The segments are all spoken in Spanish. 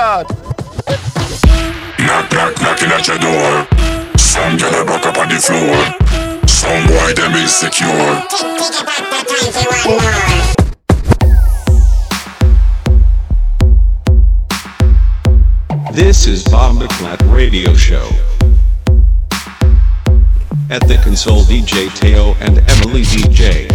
God. Knock, knock, knocking at your door. Some girl a back up on the floor. Some boy them insecure. This is Bob McClat Radio Show. At the console, DJ Teo and Emily DJ.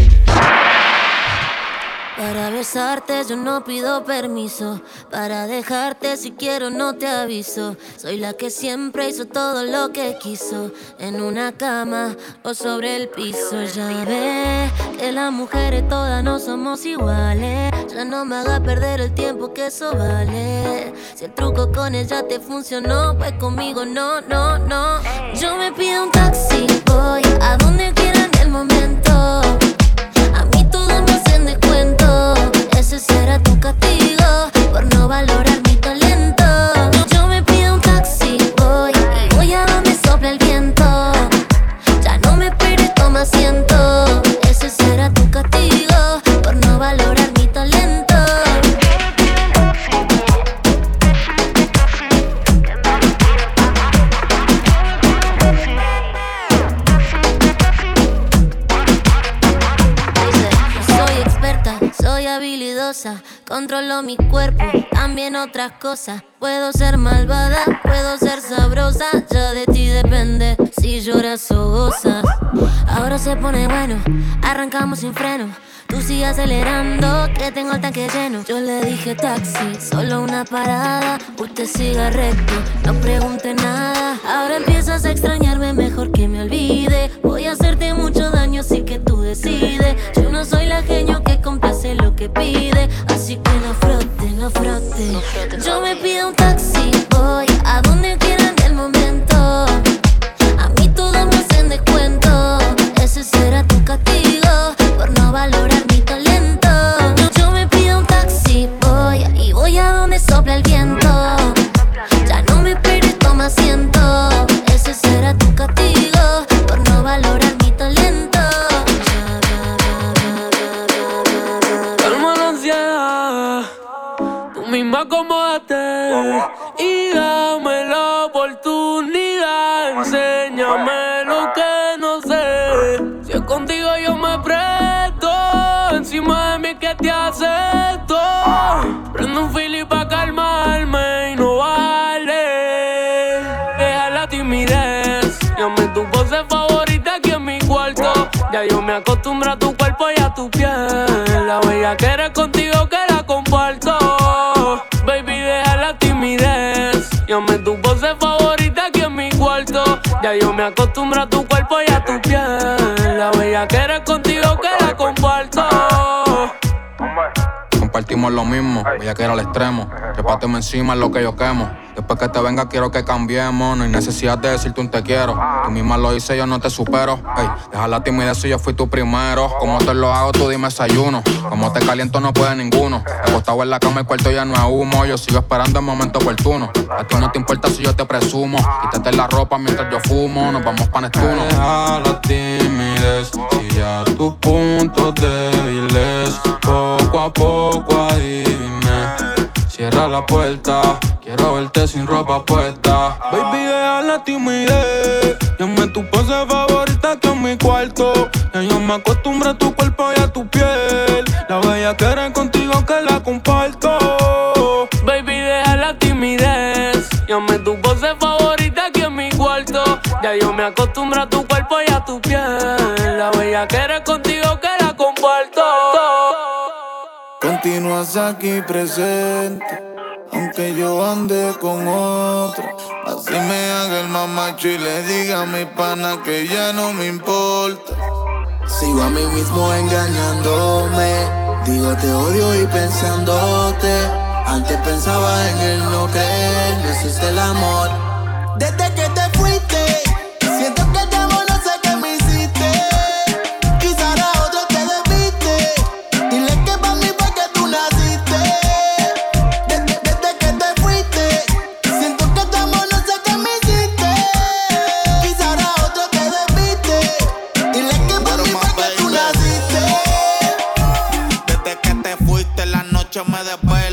Para besarte yo no pido permiso. Para dejarte si quiero no te aviso. Soy la que siempre hizo todo lo que quiso. En una cama o sobre el piso. Ya ves que las mujeres todas no somos iguales. Ya no me hagas perder el tiempo que eso vale. Si el truco con ella te funcionó, pues conmigo no, no, no. Yo me pido un taxi, voy a donde quiera en el momento. A mí todo me hacen descuento. Ese será tu castigo por no valorar mi talento. Yo me pido un taxi, voy y voy a donde sopla el viento. Ya no me esperes, toma asiento. Ese será tu castigo por no valorar mi talento. Soy habilidosa, controlo mi cuerpo, también otras cosas. Puedo ser malvada, puedo ser sabrosa, ya de ti depende si lloras o gozas. Ahora se pone bueno, arrancamos sin freno. Tú sigue acelerando, que tengo el tanque lleno. Yo le dije taxi, solo una parada. Usted siga recto, no pregunte nada. Ahora empiezas a extrañarme, mejor que me olvide. Voy a hacerte mucho daño, así que tú decides. Yo no soy la genio que complace lo que pide. Así que no frote, no frote. Yo me pido un taxi, voy a donde quiera en el momento. A mí todo me hacen descuento. Ese será tu castigo por no valorar mi talento. Yo me pido un taxi, voy y voy a donde sopla el viento. Ya no me esperes, toma asiento. Ese será tu castigo por no valorar mi talento. Calma la ansiedad, tú misma acomódate y dame la oportunidad. Enséñame lo que no sé. Si es contigo yo me presto, encima de mí que te acepto. Prendo un fili pa' calmarme y no bajarle. Deja la timidez, llame tu pose favorita aquí en mi cuarto. Ya yo me acostumbro a tu cuerpo y a tu piel. La bella que eres contigo que la comparto. Baby, deja la timidez, llame tu pose favorita aquí en mi cuarto. Ya yo me acostumbro a tu cuerpo y a tu piel. La bella que eres contigo que la comparto. Compartimos lo mismo, voy que era al extremo. Trépateme encima es lo que yo quemo. Después que te venga quiero que cambiemos. No hay necesidad de decirte un te quiero. Tú misma lo hice, yo no te supero. Ey, deja la timidez si yo fui tu primero. Como te lo hago, tú dime desayuno. Como te caliento no puede ninguno. Acostado en la cama el cuarto ya no es humo. Yo sigo esperando el momento oportuno. A ti no te importa si yo te presumo. Quítate la ropa mientras yo fumo. Nos vamos pa' Neptuno. Deja la timidez y ya tus puntos débiles poco a poco adiviné. Cierra la puerta, quiero verte sin ropa puesta. Baby, deja la timidez, llame tu pose favorita aquí en mi cuarto. Ya yo me acostumbro a tu cuerpo y a tu piel. La bella que eres contigo que la comparto. Baby, deja la timidez, llame tu pose favorita aquí en mi cuarto. Ya yo me acostumbro a tu cuerpo y a tu piel. La bella que eres contigo que la comparto. Continúas aquí presente, aunque yo ande con otro. Así me haga el mamacho y le diga a mi pana que ya no me importa. Sigo a mí mismo engañándome. Digo te odio y pensándote. Antes pensaba en el no creer, no existe el amor. Desde que te fuiste, siento que te amo, no sé qué me hiciste. Quizá a otro te debiste. Dile que pa' mí fue que tú naciste. Desde que te fuiste, siento que te amo, no sé qué me hiciste. Quizá a otro te debiste. Dile que pa' mí fue que tú naciste. Desde que te fuiste, la noche me desvelo.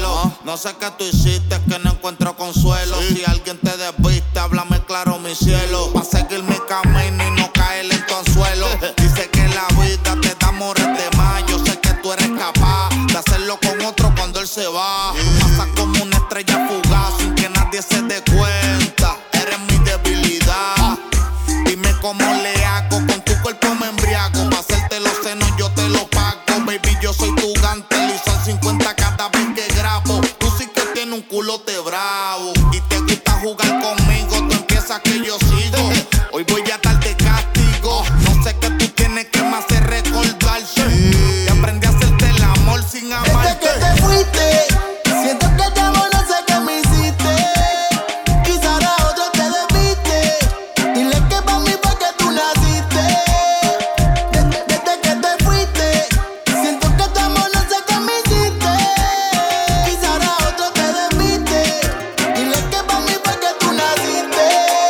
No sé qué tú hiciste, es que no encuentro consuelo. Si alguien te desviste, háblame claro, mi cielo. Pa' seguir mi camino y no caer en tu anzuelo. Dice que la vida te da amores de más. Yo sé que tú eres capaz de hacerlo con otro cuando él se va. Pasa como una estrella fugaz sin que nadie se dé cuenta. Eres mi debilidad. Dime cómo le hago, con tu cuerpo me embriago. Pa' hacerte los senos yo te lo pago. Baby, yo soy tu gantel y son 50 cada vez que grabo. Tú sí que tienes un culote bravo y te gusta jugar conmigo. Tú empiezas que yo sigo. Hoy voy a darte castigo. No sé qué tú tienes que me hacer recordarte. Y aprendí a hacerte el amor sin amarte. Desde que te fuiste, siento que te amo, no sé qué me hiciste. Quizá ahora otro te debiste. Dile que pa' mí fue que tú naciste. Desde que te fuiste, siento que te amo, no sé qué me hiciste. Quizá ahora otro te debiste. Dile que pa' mí fue que tú naciste.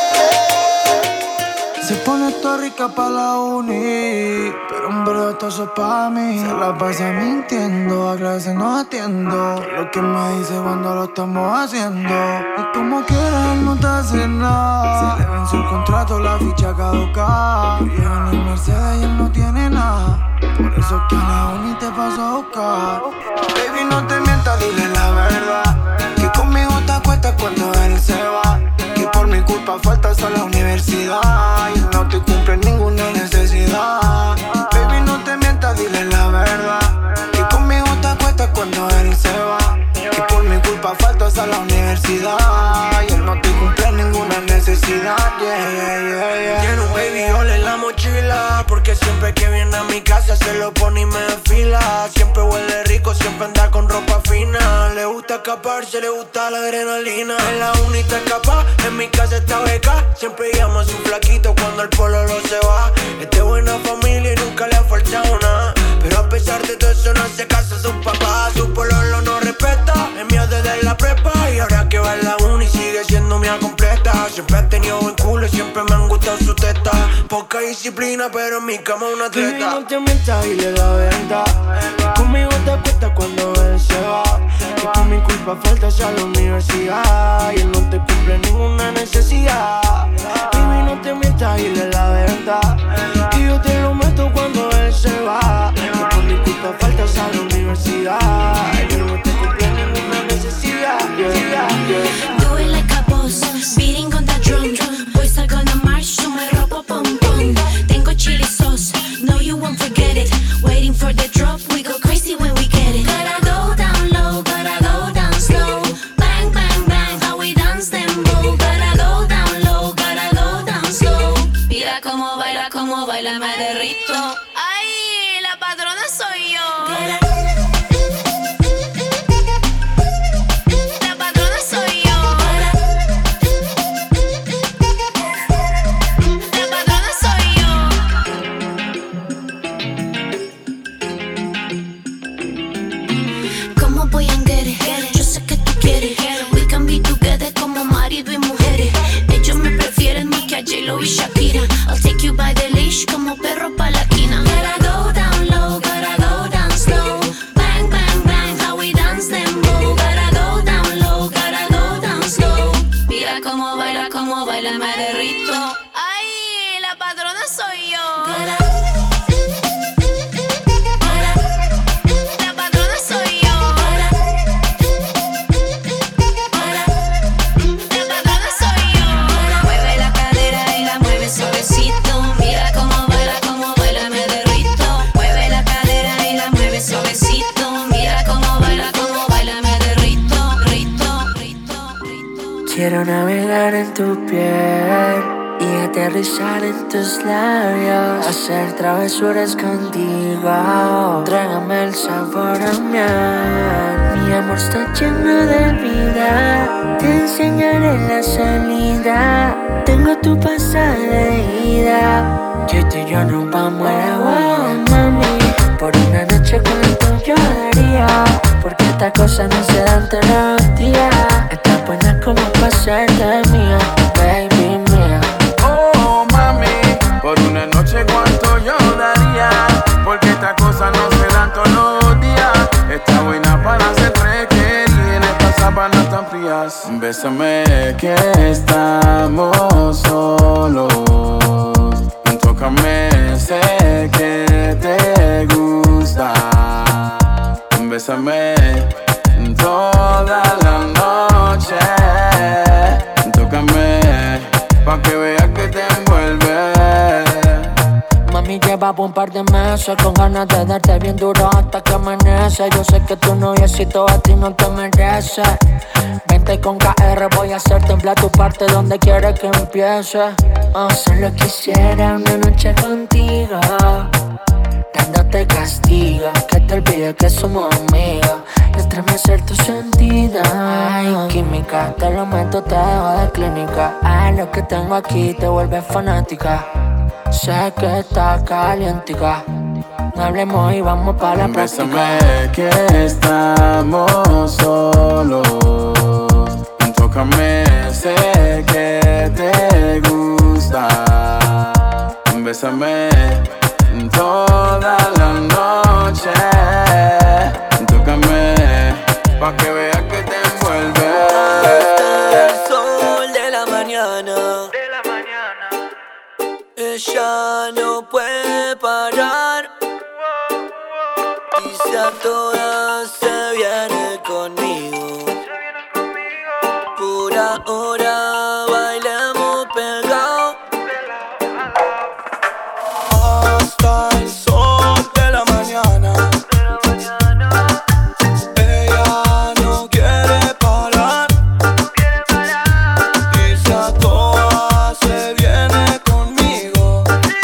Se pone toda rica pa' la uni, pero en verdad esto es pa' mí. Se la pasa mintiendo, a clase no atiendo. Lo que me dice cuando lo estamos haciendo. Y como quiera él no te hace nada. Se le venció el contrato, la ficha caduca. Llegan en Mercedes y él no tiene nada. Por eso que en la uni te paso a buscar. Baby, no te mientas, dile la verdad. Que conmigo te acuestas cuando él se va. Que por mi culpa faltas a la universidad. Y él no te cumple ninguna necesidad. Baby, no te mientas, dile la verdad. Que conmigo te acuestas cuando él se va. Que por mi culpa faltas a la universidad. Y él no te cumple ninguna necesidad. Tiene un baby all en la mochila. Porque siempre que viene a mi casa se lo pone y me desfila. Siempre huele rico, siempre anda con ropa fina. Le gusta escaparse, le gusta la adrenalina. En la uni está escapa, en mi casa está beca. Siempre llama a su flaquito cuando el pololo se va. Es de buena familia y nunca le ha faltado nada. Pero a pesar de todo eso no hace caso a sus papás. Su pololo no respeta, es mío desde la prepa. Y ahora que va en la uni sigue siendo mía completa. Siempre he tenido buen culo y siempre me han gustado sus tetas. Poca disciplina pero en mi cama una atleta. Baby, no te mientas, dile la verdad. Conmigo te acuestas cuando él se va. Que por mi culpa faltas a la universidad. Y él no te cumple ninguna necesidad. Baby, no te mientas, dile la verdad. Y yo te lo meto cuando él se va. Que por mi culpa faltas a la universidad. Y él no te cumple ninguna necesidad. Do it like a boss, beating on the drum. Hoy salgo en la march, yo me robo pom pom. Tengo chili sauce, no you won't forget it. Waiting for the drop, we go crazy when we get it. Gotta go down low, gotta go down slow. Bang, bang, bang, how we dance them bow. Gotta go down low, gotta go down slow. Mira cómo baila, me derrito. Ay, la patrona soy yo. J-Lo y Shakira, I'll take you by the leash como perro pa' la quina. Gotta go down low, gotta go down slow. Bang, bang, bang, how we dance them bow. Gotta go down low, gotta go down slow. Mira cómo baila, me derrito. Ay, la patrona soy yo. Quiero navegar en tu piel y aterrizar en tus labios. Hacer travesuras contigo, trágame el sabor a miel. Mi amor está lleno de vida, te enseñaré la salida. Tengo tu pasada de ida, que tú y yo nos vamos a la guaya. Mami, por una noche cuánto yo daría, porque esta cosa no se dan todos los días. Está buena como para ser de mía, baby mía. Oh mami, por una noche cuánto yo daría, porque esta cosa no se dan todos los días. Está buena para ser requerida, en esta Bésame que estamos solos. Tócame, sé que te gusta. Bésame toda la noche. Tócame pa' que veas que te envuelve. Mami, llevaba un par de meses con ganas de darte bien duro hasta que amanece. Yo sé que tu noviecito a ti no te merece. Vente con KR, voy a hacer temblar tu parte donde quieres que empiece. Solo quisiera una noche contigo, dándote castigo, que te olvides que somos amigos, estremecer tus sentidos. Ay, química, te lo meto, te dejo de clínica. Ay, lo que tengo aquí te vuelve fanática. Sé que está calientica. No hablemos y vamos pa' la práctica. Bésame que estamos solos. Tócame, sé que te gusta. Bésame toda la noche. Tócame pa' que veas que te envuelve. Hasta el sol de la mañana. Ella no puede parar. Y si a todas se viene conmigo. Por ahora bailemos pegados. Hasta el sol de la mañana. Ella no quiere parar. Y si a todas se viene conmigo.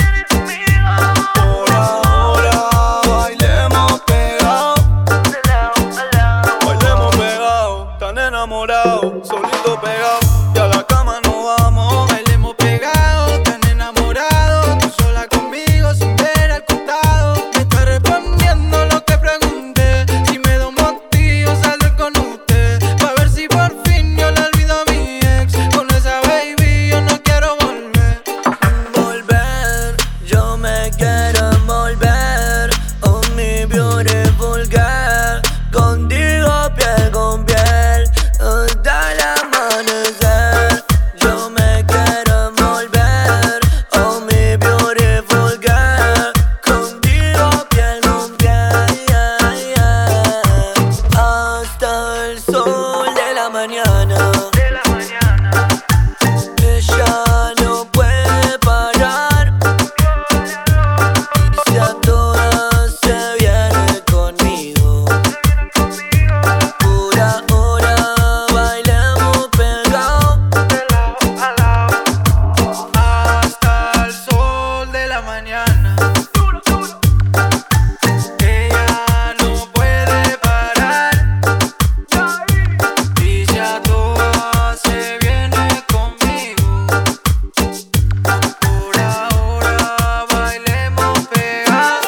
Por ahora bailemos pegados. Bailemos pegados, tan enamorados, solito pegados. Y a la cama no vamos. Bailemos pegados, tan enamorados. Tú sola conmigo sin ver al costado. Me está respondiendo lo que pregunté. Si me da un motivo salir con usted, pa' ver si por fin yo le olvido a mi ex. Con esa baby yo no quiero volver. Volver, yo me quiero envolver. Oh, mi beautiful girl. Contigo piel con piel hasta el amanecer. Yo me quiero envolver. Oh, mi beautiful girl. Contigo piel con piel, yeah, yeah. Hasta el sol de la mañana. Ella no puede parar. Y si a todas se viene conmigo. Por ahora bailemos pegados. Hasta el sol de la mañana. Ella no puede parar. Y si a todas se viene conmigo. Por ahora bailemos pegados.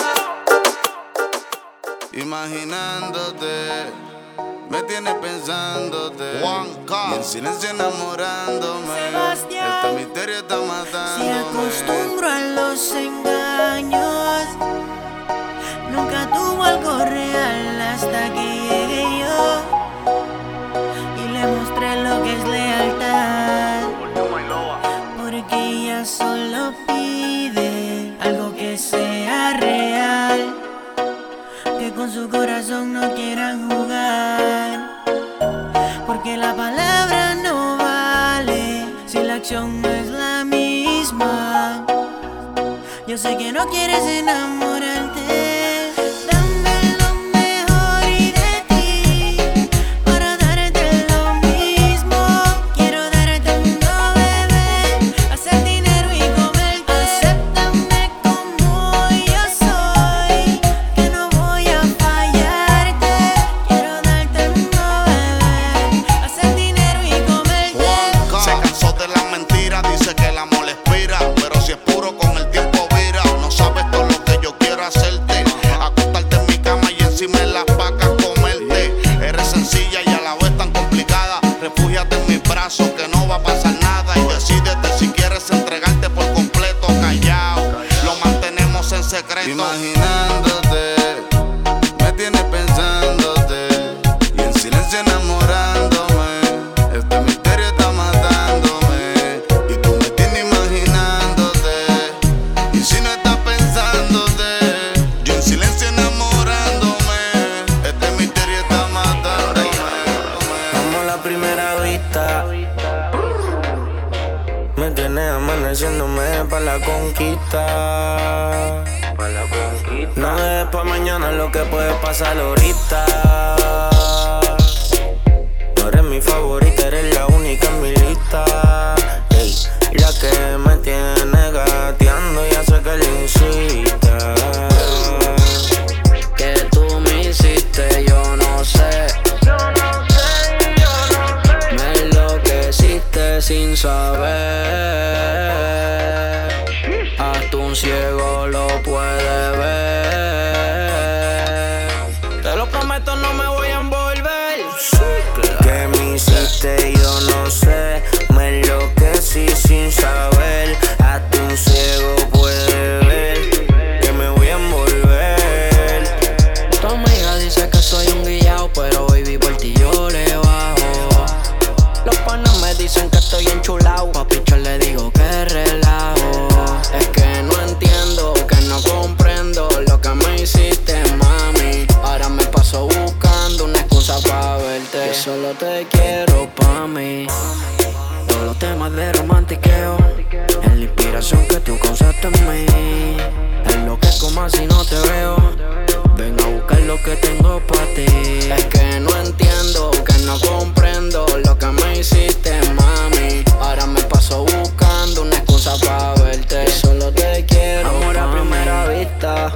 Imaginándote, me tienes pensándote. Y en silencio enamorándome. Este misterio está matándome. Se acostumbro a los engaños. Nunca tuvo algo real hasta que llegué yo y le mostré lo que es lealtad. Porque ella solo pide algo que sea real, que con su corazón no quieran jugar. Porque la palabra no vale si la acción no es la misma. Yo sé que no quieres enamorarte. Dame lo mejor y de ti para darte lo mismo. Quiero darte todo, bebé, hacer dinero y comerte. Acéptame como yo soy, que no voy a fallarte. Quiero darte todo, bebé, hacer dinero y comerte. Se cansó de las mentiras, dice que el amor expira. Pero si es puro con el tiempo vira. No sabes todo lo que yo quiero hacerte. Acostarte en mi cama y encima de las vacas comerte. Eres sencilla y a la vez tan complicada. Refúgiate en mis brazos que no va a pasar nada. Y decídete si quieres entregarte por completo. Callao, lo mantenemos en secreto. Imaginándote, me tienes pensándote. Y en silencio enamorándome. me tiene amaneciéndome pa' la conquista. No dejes pa' mañana lo que puede pasar ahorita. No eres mi favorita, eres la única en mi lista. Ey, la que me tiene gateando y hace que le incita. Que tú me hiciste, yo no sé. Me enloqueciste sin saber. Hasta un ciego lo puede ver. Te lo prometo, no me voy a envolver. ¿Qué me hiciste? Yo no sé. Me enloquecí sin saber. Hasta un ciego puede ver que me voy a envolver. Tu amiga dice que soy un guillao, pero baby por ti yo le bajo. Los panas me dicen que estoy enchulao. Pa' pichar le digo que relajo. Es que no entiendo, que no comprendo lo que me hiciste, mami. Ahora me paso buscando una excusa pa' verte. Yo solo te quiero pa' mí. Todos los temas de romantiqueo es la inspiración que tú causaste en mí. Es lo que como si no te veo. Ven a buscar lo que tengo pa' ti. Es que no entiendo, que no comprendo lo que me hiciste, mami. Ahora me paso buscando una excusa pa' verte. Yo solo te quiero. Amor a primera vista.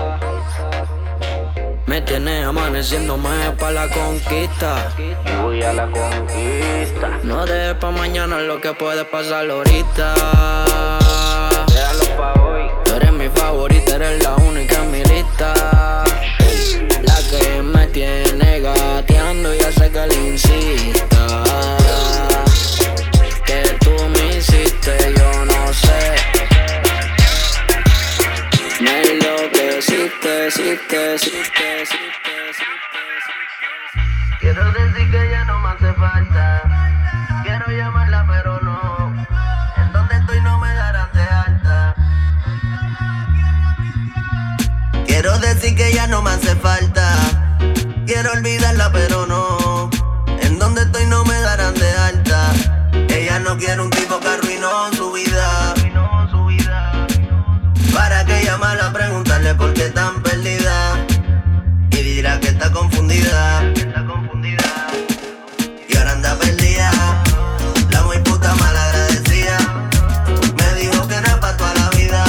Me tienes amaneciéndome pa' la conquista. Y voy a la conquista. No dejes pa' mañana lo que puede pasar ahorita. Déjalo pa' hoy. Tú eres mi favorita, eres la única en mi lista. La que me tiene gateando y hace que le insista. Que tú me hiciste, yo no sé. Me enloqueciste, Quiero decir que ya no me hace falta. Quiero llamarla pero no. En donde estoy no me darán de alta. Quiero decir que ya no me hace falta. Quiero olvidarla pero no. En donde estoy no me darán de alta. Ella no quiere un tipo que arruinó su vida. ¿Para qué llamarla a preguntarle por qué tan perdida? Y dirá que está confundida. Y ahora anda perdida. La muy puta malagradecida. Me dijo que era pa' toda la vida.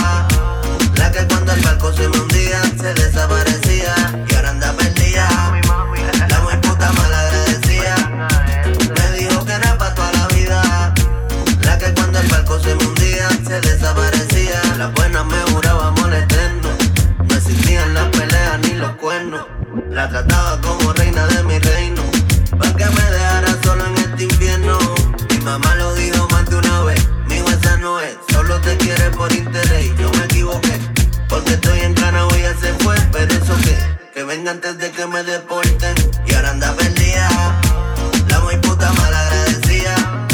La que cuando el barco se me hundía se desaparecía. Y ahora anda perdida. La muy puta malagradecida. Me dijo que era pa' toda la vida. La que cuando el barco se me hundía se desaparecía. Las buenas me jurábamos eterno. No existían las peleas ni los cuernos. La trataba como reina de mi reino. Pa' que me dejara solo en este infierno. Mi mamá lo dijo más de una vez. Mijo, esa no es, solo te quiere por interés. Yo me equivoqué, porque estoy en cana, hoy ya se fue. Pero eso que venga antes de que me deporten. Y ahora anda perdida. La muy puta malagradecida.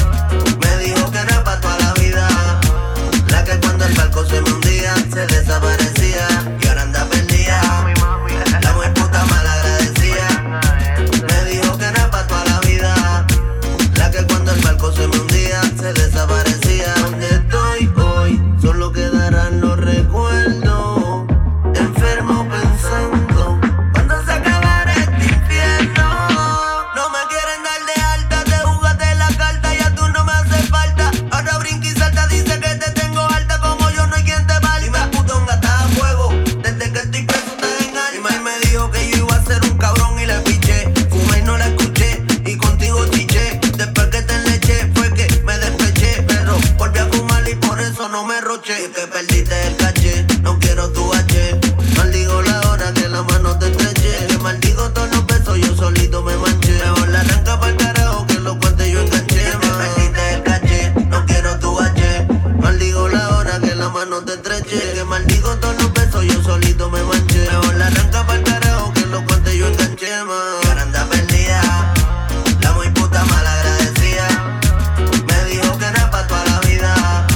Me dijo que era pa' toda la vida. La que cuando el barco se me hundía se desaparecía. Y ahora anda perdida. La muy puta malagradecida. Me dijo que era pa' toda la vida. La que cuando el barco se me hundía se desaparecía. Donde estoy hoy solo quedarán los recuerdos. Enfermo pensando cuando se acabará este infierno. No me quieren dar de alta, te jugaste la carta, ya tú no me haces falta. Ahora brinca y salta, dice que te tengo alta, como yo no hay quien te valga. Y me putón gata a fuego, desde que estoy preso te engaño. Y May me dijo que yo iba a ser un cabrón y le piché. Fumé y no la escuché, y contigo chiché. Después que te enleché fue que me despeché. Pero volví a fumar y por eso no me roché. Y que perdiste el caché, no quiero tu H. Maldigo la hora que la mano te estreché. Que maldigo todos los besos, yo solito me manché. Mejor la arranca pa'l carajo que los cuantes yo enganché. Que perdiste el caché, no quiero tu H. Maldigo la hora que la mano te estreché. Que maldigo todos los besos, yo solito me manché. Mejor la arranca pa'l carajo que los cuantes yo enganché, man. Y ahora anda perdida. La muy puta malagradecida. Me dijo que era pa' toda la vida.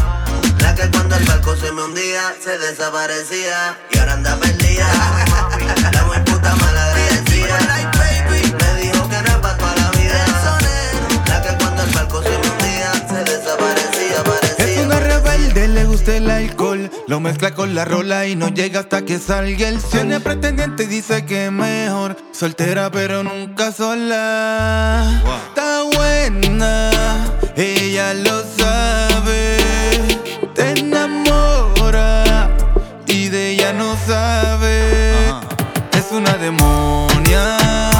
La que cuando el barco se me hundía se desaparecía. Y ahora anda perdida. La muy puta malagradecida. Me dijo que era pa' toda la vida. La que cuando el barco se me hundía se desaparecía, parecía. mete el alcohol, lo mezcla con la rola y no llega hasta que salga el sol. Tiene pretendiente y dice que es mejor soltera pero nunca sola. Está buena, ella lo sabe. Te enamora y de ella no sabe. Es una demonia,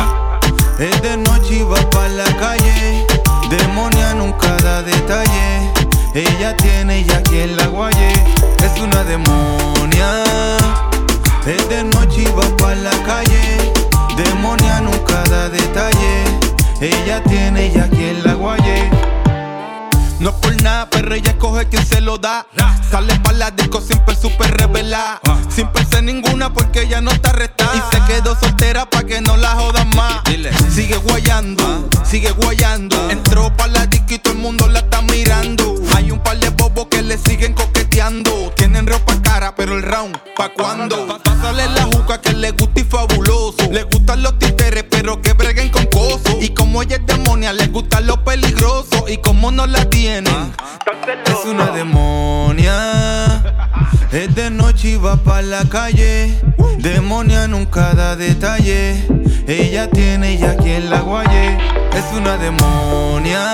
es de noche y va pa' la calle. Demonia nunca da detalle. Ella tiene ya quien la guaye. Es una demonia, es de noche y va pa' la calle. Demonia nunca da detalle. Ella tiene ya quien la guaye. No por nada, pero ella escoge quien se lo da. Sale pa' la disco siempre súper revelada. Sin pensar ninguna porque ella no está arrestada. Y se quedó soltera pa' que no la jodan más. Sigue guayando, sigue guayando. Entró pa' la disco y todo el mundo la está mirando. Hay un par de bobos que le siguen coqueteando. Tienen ropa cara, pero el round, ¿pa' cuándo? Pásale la juca que le gusta y fabuloso. Le gustan los títeres, pero que breguen con coso. Y como ella es demonia, le gustan los peligrosos. Y como no la tienen, es una demonia. Es de noche y va pa' la calle. Demonia nunca da detalle. Ella tiene ya quien la guaye. Es una demonia.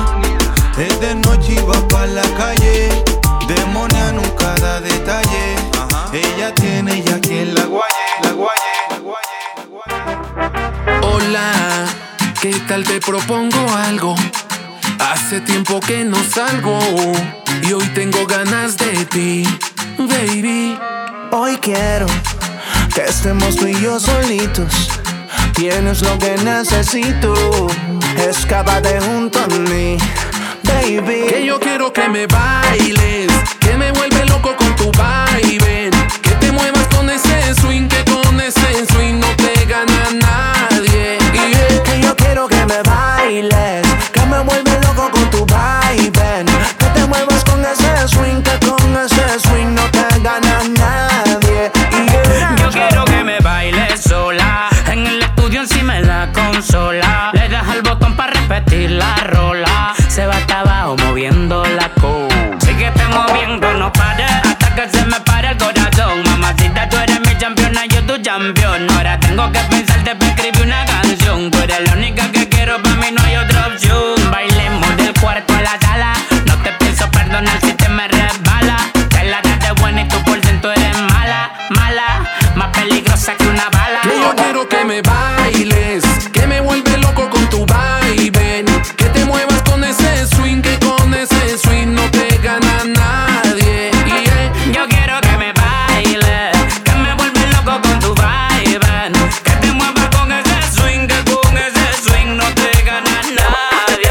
Es de noche y va pa' la calle. Demonia nunca da detalle. Ella tiene ya quien la guaye. La guaye, la guaye, la guaye. Hola, ¿qué tal? Te propongo algo. Hace tiempo que no salgo y hoy tengo ganas de ti, baby. Hoy quiero que estemos tú y yo solitos. Tienes lo que necesito. Escápate junto a mí, baby. Que yo quiero que me bailes, que me vuelve loco con tu baile. Que te muevas con ese swing, que con ese swing no te gana nadie. Que yo quiero que me bailes, que me vuelve loco con tu vibe. Que te muevas con ese swing, que con ese swing no te gana nadie. Yo quiero que me bailes sola, en el estudio encima de la consola. Le das al botón para repetir la rola. Se va hasta abajo moviendo la cola. Síguete moviendo, no pares, hasta que se me pare el corazón. Mamacita, tú eres mi campeona, yo tu campeón. Ahora tengo que pensarte para escribir una canción. Tú eres la única que quiero, para mí no hay otra opción. Bailemos del cuarto a la sala. No te pienso perdonar si te me resbala. Te la das de buena y tú por ciento eres mala, mala, más peligrosa que una bala. Que yo quiero que me bailes, que me vuelve loco con tu vibe. Que te muevas con ese swing, que con ese swing no te gana nadie. Yo quiero que me bailes, que me vuelve loco con tu vibe. Que te muevas con ese swing, que con ese swing no te gana nadie.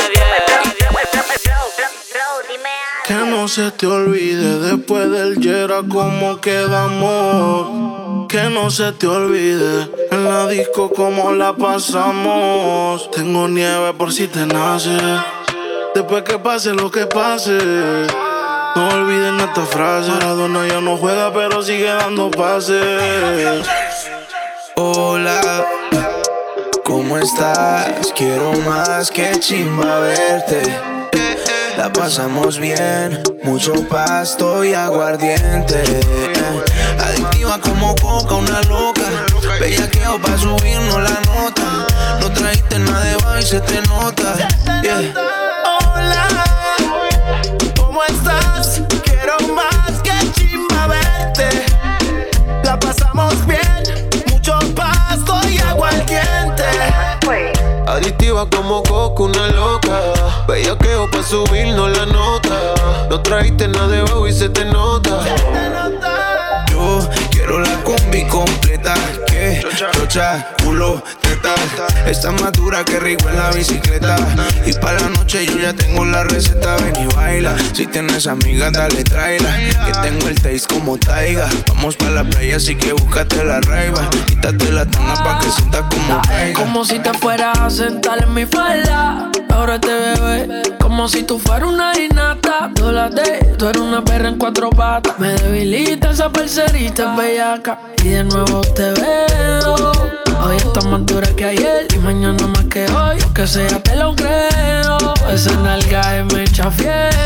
Que no se te olvide después del Yera cómo quedamos. Que no se te olvide en la disco cómo la pasamos. Tengo nieve por si te nace. Después que pase lo que pase. No olviden esta frase. Maradona ya no juega pero sigue dando pases. Hola, ¿cómo estás? Quiero más que chimba verte. La pasamos bien, mucho pasto y aguardiente. Adictiva como coca, una loca. Bellaqueo pa' subirnos la nota. No trajiste nada de baile y se te nota. Yeah. Hola, ¿cómo estás? Quiero más que chimba verte. La pasamos bien, mucho pasto y aguardiente. Adictiva como coca, una loca. Bellaqueo pa' subirnos la nota. No trajiste nada de baile y se te nota. Yo quiero la combi completa. Que chocha, culo, teta. Está más dura que rico en la bicicleta. Y para la noche yo ya tengo la receta. Ven y baila. Si tienes amigas, dale, tráela. Que tengo el taste como Taiga. Vamos pa' la playa, así que búscate la raiva. Quítate la tanga pa' que sientas como caiga. Como si te fueras a sentar en mi falda. Ahora te bebé, como si tú fueras una innata. Tú eres una perra en cuatro patas. Me debilita esa parcerita bellaca. Y de nuevo te veo. Hoy estás más dura que ayer y mañana más que hoy. Lo que sea te lo creo. Esa nalga es me chafiero.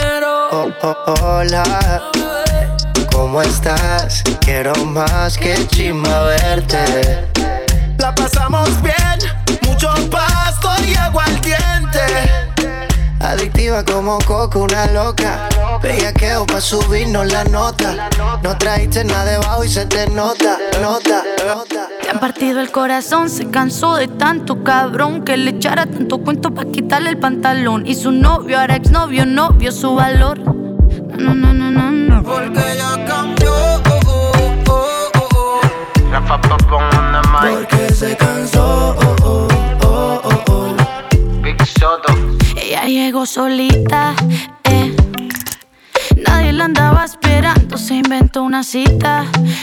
Hola, ¿cómo estás? Quiero más que chimba verte. La pasamos bien, mucho pasto y aguardiente. Adictiva como coco, una loca. Bellaqueo pa' subirnos la nota. No trajiste nada debajo y se te nota. Te han partido el corazón, se cansó de tanto cabrón que le echara tanto cuento pa' quitarle el pantalón. Y su novio, ahora exnovio, no vio su valor. No. Porque ya cambió. Porque se cansó. Big Soto. Ella llegó solita, nadie la andaba esperando, se inventó una cita,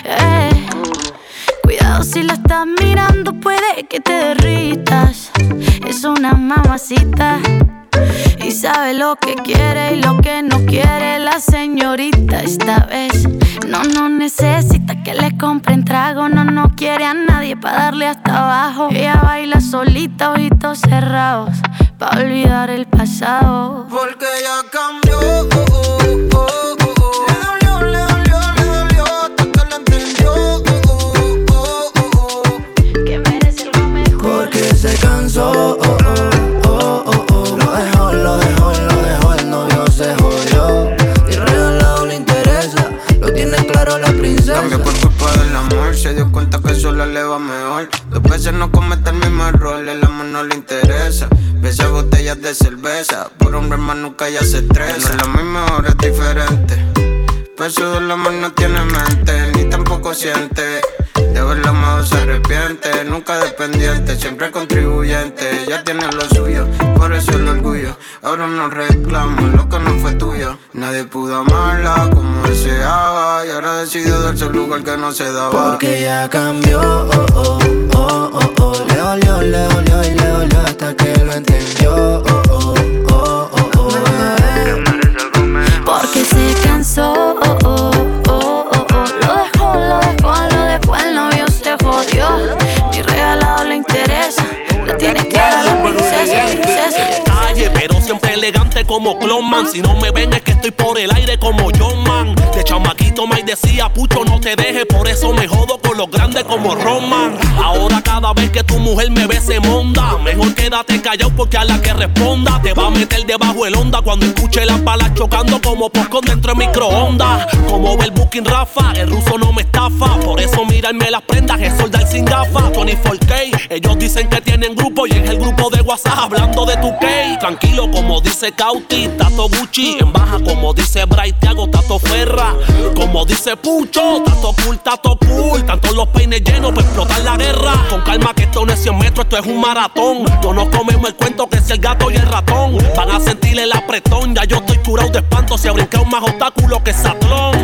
Cuidado si la estás mirando, puede que te derritas. Es una mamacita y sabe lo que quiere y lo que no quiere la señorita. Esta vez no necesita que le compren trago. No quiere a nadie pa' darle hasta abajo. Ella baila solita, ojitos cerrados, pa' olvidar el pasado. Porque ya cambió. Le dolió, hasta que lo entendió. Que merece algo mejor. Porque se cansó. Lo dejó, el novio se jodió. Y regalado le interesa, lo tiene claro la princesa. Cambió por culpa del amor, se dio cuenta que sola le va mejor. 2 veces no comete el mismo error, el amor no le interesa. Besa botellas de cerveza, por un hermano nunca ya se estresa. No es la misma, ahora es diferente. Peso del amor no tiene mente, ni tampoco siente. De haberlo amado se arrepiente, nunca dependiente, siempre contribuyente. Ya tiene lo suyo, por eso el orgullo. Ahora no reclamo lo que no fue tuyo. Nadie pudo amarla como deseaba, y ahora decidió darse el lugar que no se daba. Porque ya cambió. Le dolió hasta que lo entendió. Porque se cansó. Lo dejó, el novio se jodió. Ni regalado le interesa, la tiene clara la princesa. Calle, pero siempre elegante como Clonman. Si no me ven es que estoy por el aire como John Man. De chamaquito me decía, pucho no te dejes, por eso me jodo con los grandes como Roman. Ahora cada vez que tu mujer me ve se monda. Mejor quédate callado porque a la que responda te va a meter debajo el onda cuando escuche las balas chocando como popcorn dentro de microondas. Como ve el booking Rafa, el ruso no me estafa. Por eso mirarme las prendas es soldar sin gafas. 24K, ellos dicen que tienen grupo y es el grupo de WhatsApp hablando de tu K. Tranquilo como dice Cauti, Tato Gucci. En baja como dice Bright, Thiago, Tato Ferra. Como dice Pucho, Tato cool. Tanto los peines llenos para explotar la guerra. Con calma que esto no es 100 metros, esto es un maratón. No nos comemos el cuento que es el gato y el ratón. Van a sentir el apretón, ya yo estoy curado de espanto. Se ha brincado más obstáculo que Satlón.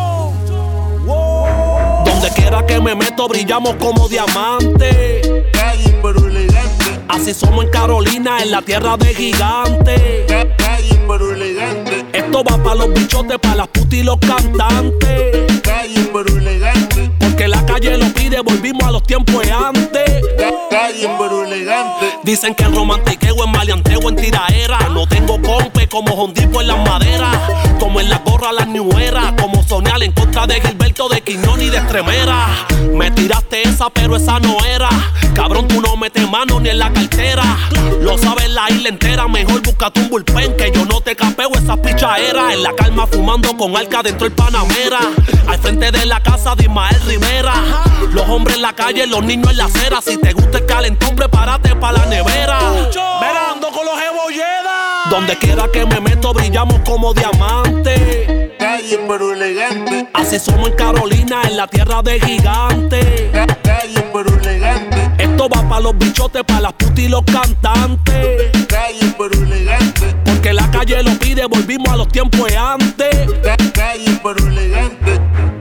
Donde quiera que me meto brillamos como diamante. Calle pero elegante. Así somos en Carolina, en la tierra de gigantes. Calle pero elegante. Esto va pa' los bichotes, pa' las putas y los cantantes. Calle pero elegante. Porque la calle lo pide, volvimos a los tiempos de antes. Calle pero elegante. Dicen que el romantiqueo es maleanteo en tiraera. No tengo compe como Hondipo en las maderas. Como en la gorra las New Era. Como Sonial en contra de Gilberto, de Quiñón y de Estremera. Me tiraste esa pero esa no era. Cabrón, tú no metes mano ni en la cartera. Lo sabes la isla entera. Mejor búscate un bullpen que yo no te capeo esa pichaera. En la calma fumando con Alca dentro del Panamera. Al frente de la casa de Ismael Rivera. Los hombres en la calle, los niños en la acera. Si te gusta el calentón, prepárate pa' la nevera. Verando con los Ebolledas. Donde quiera que me meto brillamos como diamantes. Calle pero elegante. Así somos en Carolina, en la tierra de gigantes. Calle pero elegante. Esto va pa' los bichotes, pa' las putas y los cantantes. Calle pero elegante. Porque la calle lo pide, volvimos a los tiempos de antes. Calle pero elegante.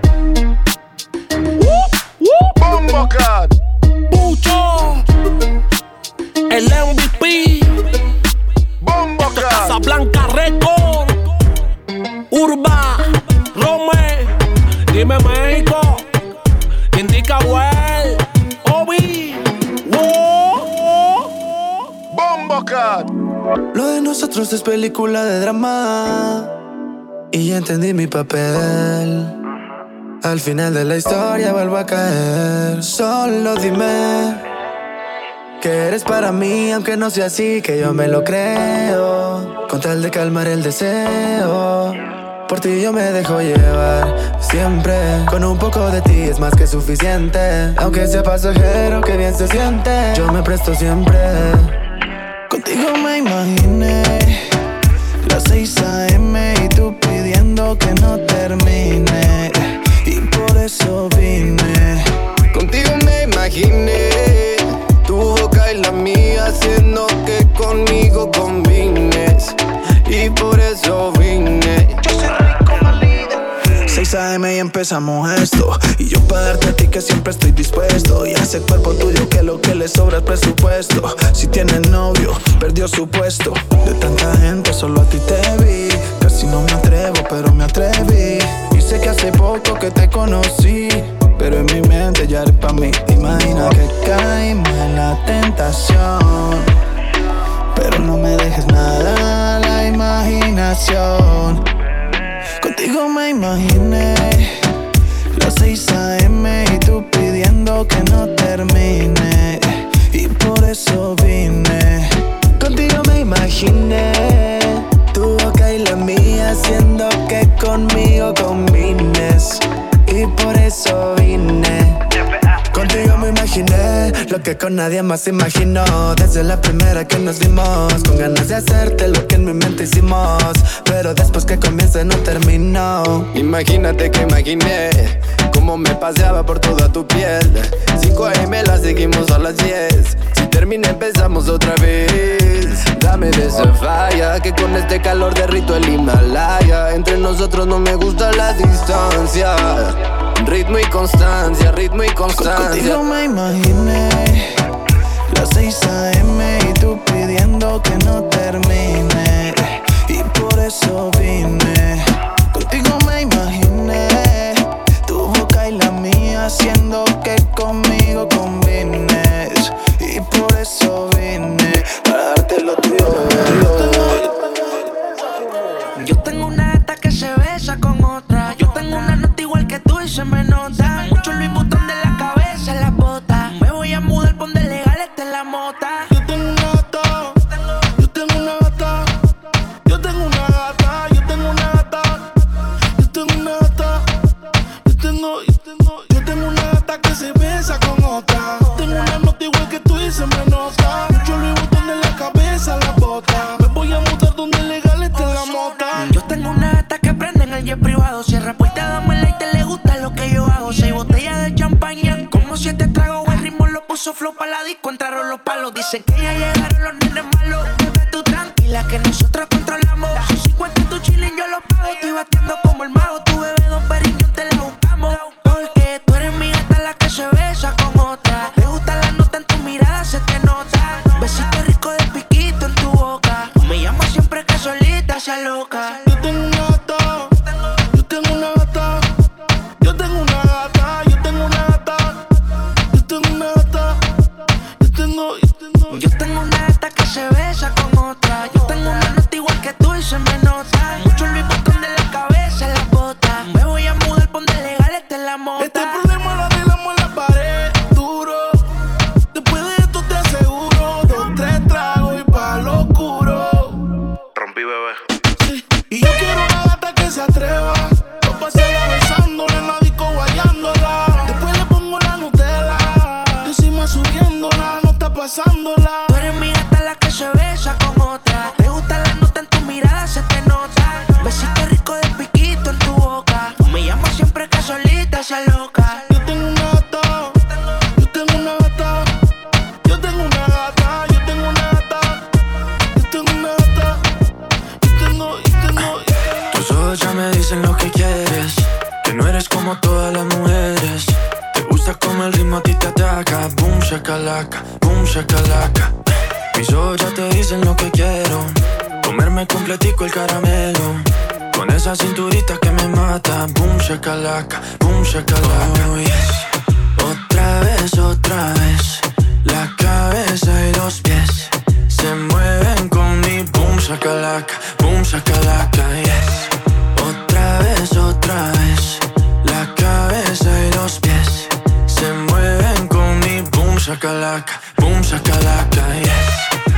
Bombo Cat, Pucho, el MVP, Bombo Cat, Casablanca Record, Urba, Rome, dime México, Indica Well, Obi, Bombo Cat. Lo de nosotros es película de drama. y entendí mi papel. Al final de la historia vuelvo a caer. Solo dime que eres para mí, aunque no sea así, que yo me lo creo. Con tal de calmar el deseo, por ti yo me dejo llevar siempre. Con un poco de ti es más que suficiente. Aunque sea pasajero, que bien se siente. Yo me presto siempre. Contigo me imaginé las 6 AM y tú pidiendo que no termine. Y por eso vine. Contigo me imaginé tu boca y la mía, haciendo que conmigo combines. Y por eso vine. Yo soy rico, malida. 6 AM y empezamos esto. Y yo pa' darte a ti que siempre estoy dispuesto. Y a ese cuerpo tuyo que lo que le sobra es presupuesto. Si tienes novio, perdió su puesto. De tanta gente solo a ti te vi. Casi no me atrevo, pero me atreví. Y sé que hace poco que te conocí, pero en mi mente ya eres pa' mí. Imagina que caímos en la tentación, pero no me dejes nada a la imaginación. Contigo me imaginé las 6 AM y tú pidiendo que no termine. Y por eso vine. Contigo me imaginé tu boca y la mía, haciendo que conmigo combines. Y por eso vine. Contigo me imaginé lo que con nadie más imaginó. Desde la primera que nos vimos, con ganas de hacerte lo que en mi mente hicimos. Pero después que comienza no terminó. Imagínate que imaginé cómo me paseaba por toda tu piel. 5 AM la seguimos a las 10. Si termina empezamos otra vez. Dame de esa falla, que con este calor derrito el Himalaya. Entre nosotros no me gusta la distancia. Ritmo y constancia, ritmo y constancia. Contigo me imaginé las 6 AM y tú pidiendo que no termine. Y por eso vine. Contigo me imaginé tu boca y la mía, haciendo que conmigo combines. Y por eso vine, para darte lo tuyo. Yo tengo una gata que se besa con otra. Yo tengo una nota igual que tú y se me nota. Mucho Louis Vuitton de la cabeza en las botas. Me voy a mudar por donde legal esté en la mota. Yo tengo una gata, yo tengo una gata, yo tengo una gata, yo tengo una gata, yo tengo una gata, yo tengo una gata que se besa con otra. Tengo una nota igual que tú y se me nota. Mucho Louis Vuitton de la cabeza en las botas. Me voy a mudar donde legal esté en la mota. Yo tengo una gata que prende en el jet privado. Cierra puerta, dame el te le gusta lo que yo hago. 6 botellas de champaña, como 7 tragos. El ritmo lo puso flow pa' la disco, entraron los palos. Dicen que ya llegaron los nenes malos. Bebé, tú tranquila que nosotros controlamos. Si 50 tu chilling yo lo pago. Estoy batiendo como el mago. Tu bebé Don Periñón te la buscamos. Porque tú eres mi gata la que se besa con otra. Me gusta la nota en tu mirada, se te nota. Besito rico de piquito en tu boca. Me llama siempre que solita se aloca. Yo tengo una gata, yo tengo una gata, yo tengo una gata, yo tengo una gata, yo tengo una gata, yo tengo una gata que se besa con otra. Yo tengo una nota igual que tú y se me nota. Mucho Louis Vuitton de la cabeza en las botas. Me voy a mudar por donde legal esté en la mota. Este problema lo arreglamos en la pared, duro. Después de esto te aseguro 2, 3 tragos y pa' lo oscuro. Rompí, bebé. Sí. Y yo quiero una gata que se atreva. No pasarla besándola en la disco guayándola. Después le pongo la Nutella, encima subiéndola, no está pasándola. Tú eres mi gata la que se besa con otra. Me gusta la nota en tu mirada, se te nota. Besito rico de piquito en tu boca. Me llama siempre que solita se aloca. Yo tengo una gata, yo tengo una gata, yo tengo una gata, yo tengo una gata, yo tengo una gata, yo tengo. Tus ojos ya me dicen lo que quieres, que no eres como todas las mujeres. Te gusta como el ritmo a ti te ataca. Boom shakalaka, boom shakalaka. Mis ojos ya te dicen lo que quiero, comerme completico el caramelo. Con esa cinturita que me mata. Boom shakalaka, boom shakalaka. Oh yes. Otra vez, la cabeza y los pies se mueven con mi boom shakalaka, yes. shakalaka, boom shakalaka, yes.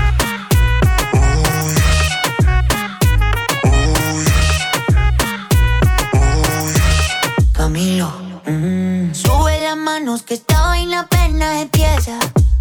Camilo, sube las manos que esta vaina apenas empieza.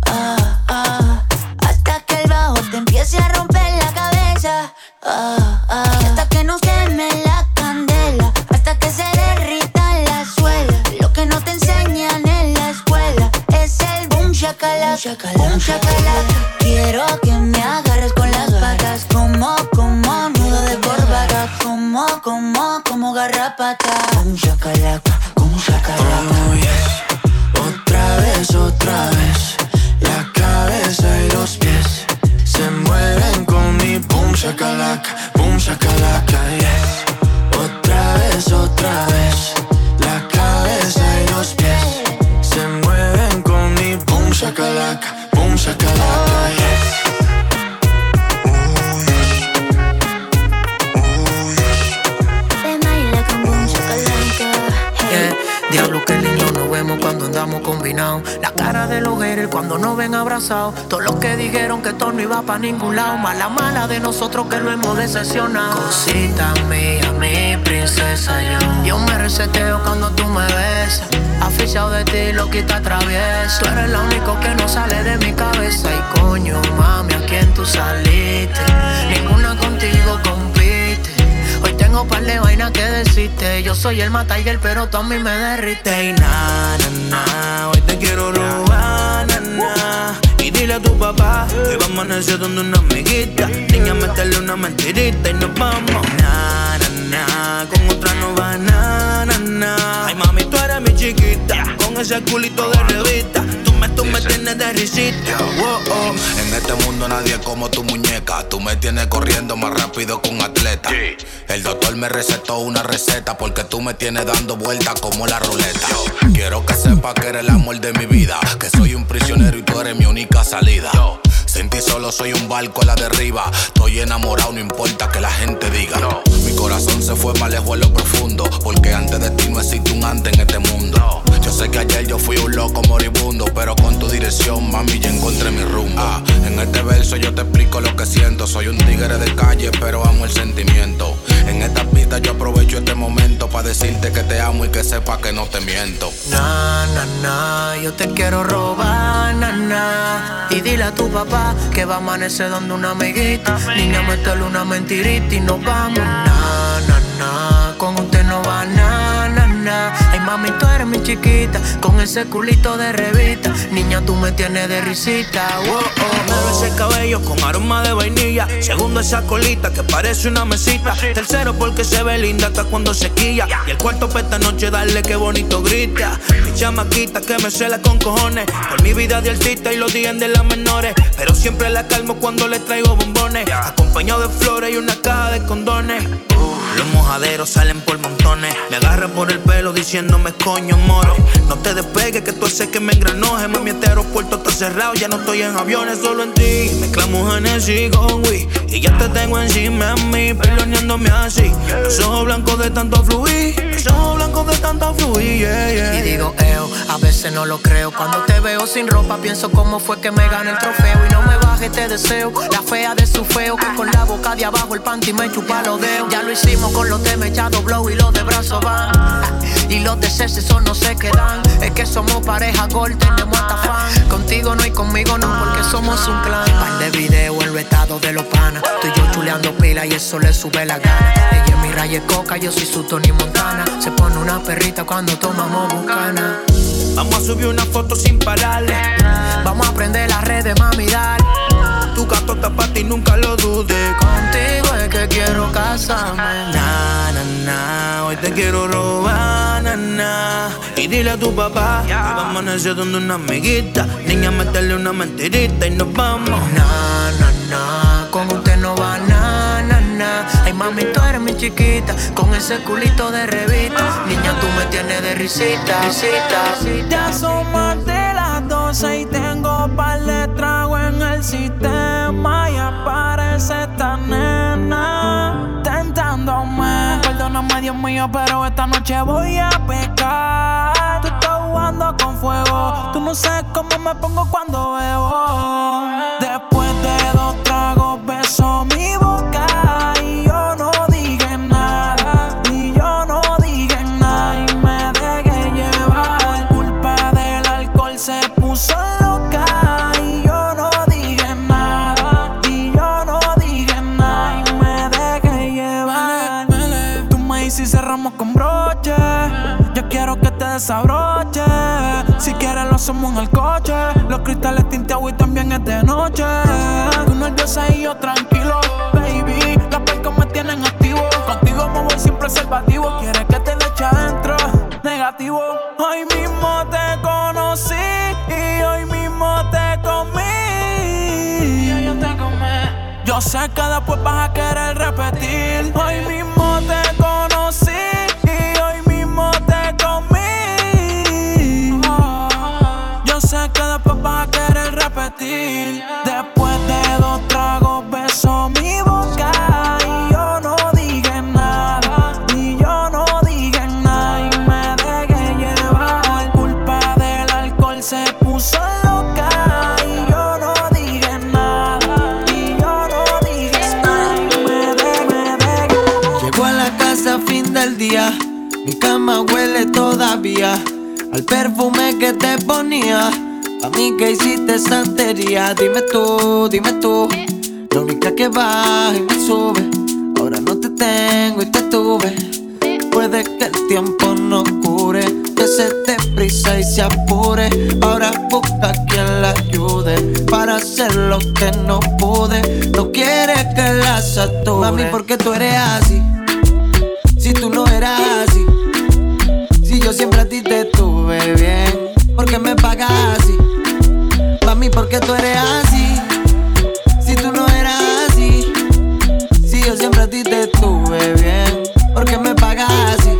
Hasta que el bajo te empiece a romper la cabeza. Hasta que nos queme la candela, hasta que se derrita la suela. Lo que no te enseñan en la escuela es el boom shakalaka, boom shakalaka. Quiero que me agarres con las patas, como nudo de corbata, como garrapata. Boom shakalaka, boom shakalaka. Oh yes, otra vez. La cabeza y los pies se mueven con mi boom shakalaka, yes. Otra vez. La cabeza y los pies se mueven con mi boom shakalaka, yes. Diablo, qué lindo nos vemos cuando andamos combinados. La cara de los haters cuando nos ven abrazados. Todos los que dijeron que esto no iba pa' ningún lado. Mala de nosotros que lo hemos decepcionado. Cosita mía, mi princesa, yo me reseteo cuando tú me besas. Aficionado de ti, loquita travieso. Tú eres lo único que no sale de mi cabeza. Y coño, mami, ¿a quién tú saliste? Ninguna contigo compite. Hoy tengo par de vainas que decirte. Yo soy el Tiger, pero tú a mí me derrite. Y hoy te quiero robar, y dile a tu papá que va a amanecer donde una amiguita. Niña, meterle una mentirita y nos vamos. Con otra no va Ay, mami, tú eres mi chiquita, con ese culito de revista. Tú me tienes de risita. En este mundo nadie es como tu muñeca. Tú me tienes corriendo más rápido que un atleta. El doctor me recetó una receta porque tú me tienes dando vueltas como la ruleta. Quiero que sepas que eres el amor de mi vida, que soy un prisionero y tú eres mi única salida. Sin ti solo soy un barco a la derriba. Estoy enamorado, no importa que la gente diga. Mi corazón se fue más lejos en lo profundo, porque antes de ti no existe un antes en este mundo. Yo sé que ayer yo fui un loco moribundo, pero con tu dirección, mami, ya encontré mi rumbo. En este verso yo te explico lo que siento. Soy un tigre de calle, pero amo el sentimiento. En esta pista yo aprovecho este momento para decirte que te amo y que sepas que no te miento. Yo te quiero robar, y dile a tu papá que va a amanecer donde una amiguita. Niña, métele una mentirita y nos vamos. Con usted no va Ay, mami, tú eres mi chiquita, con ese culito de revista. Niña, tú me tienes de risita. Primero ese cabello con aroma de vainilla. Segundo esa colita que parece una mesita. Tercero porque se ve linda hasta cuando se quilla. Y el cuarto pa' esta noche darle que bonito grita. Mi chamaquita que me cela con cojones. Por mi vida de artista y los días de las menores. Pero siempre la calmo cuando le traigo bombones. Acompañado de flores y una caja de condones. Los mojaderos salen por montones. Me agarran por el pelo diciéndome coño moro. No te despegues que tú haces que me engranoje. Mami, este aeropuerto está cerrado, ya no estoy en aviones, solo en ti. Mezclamos Genesis con Wii y ya te tengo encima de mí, peloneándome así. Los ojos blancos de tanto fluir, los ojos blancos de tanto fluir, yeah. Y digo, a veces no lo creo. Cuando te veo sin ropa pienso cómo fue que me gané el trofeo. Y no me baje este deseo, la fea de su feo, que con la boca de abajo el panty me chupa los dedos. Ya lo hicimos con los de mechado blow y los de brazo van. Y los de cese son no se quedan. Es que somos pareja gol, tenemos hasta fan. Contigo no y conmigo no, porque somos un clan. Par de video en los estados de los panas. Tú y yo chuleando pila y eso le sube la gana. Ella es mi Raya Coca, yo soy su Tony Montana. Se pone una perrita cuando tomamos bucana. Vamos a subir una foto sin pararle. Vamos a prender las redes, mami, dale. Tu gato está pa' ti, nunca lo dudes. Contigo es que quiero casarme. Hoy te quiero robar, y dile a tu papá que va a amanecer donde una amiguita. Niña, meterle una mentirita y nos vamos. Con usted no va Ay, mami, tú eres mi chiquita, con ese culito de revista. Niña, tú me tienes de risita. Ya son más de las 12 y tengo par de trago en el sistema. Y aparece esta nena tentándome. no me dio mío, pero esta noche voy a pecar. Tú estás jugando con fuego, tú no sabes cómo me pongo cuando bebo. Después de 2 tragos beso mi boca y yo no dije nada, y yo no dije nada y me dejé llevar. Por culpa del alcohol se puso loca y yo no dije nada, y yo no dije nada y me dejé llevar. Tú me dices cerramos con broche, yo quiero que te desabroche. Si quieres lo hacemos en el coche, los cristales tinteados y también es de noche. Tú nerviosa y yo tranquilo, baby, las percos me tienen activo. Contigo me voy sin preservativo, quieres que te le eche adentro, negativo. Hoy mismo te conocí y hoy mismo te comí. Y yo te comí. Yo sé que después vas a querer repetir. Hoy mismo te conocí y hoy mismo te comí. Yo sé que después vas a querer repetir. Después de 2 tragos beso mi boca y yo no dije nada, y yo no dije nada y me dejé llevar. Por culpa del alcohol se puso loca y yo no dije nada, y yo no dije nada y me dejé. Llego a la casa fin del día, mi cama huele todavía al perfume que te ponía. A mí que hiciste santería, dime tú, la única que baja y me sube. Ahora no te tengo y te tuve. Puede que el tiempo no cure, que se te prisa y se apure. Ahora busca quien la ayude para hacer lo que no pude. No quiere que la sature. Mami, ¿por qué tú eres así? Si tú no eras así, si yo siempre a ti te tuve bien, ¿por qué me pagas así? Mami, ¿por qué tú eres así? Si tú no eras así, si yo siempre a ti te tuve bien, ¿por qué me pagas así?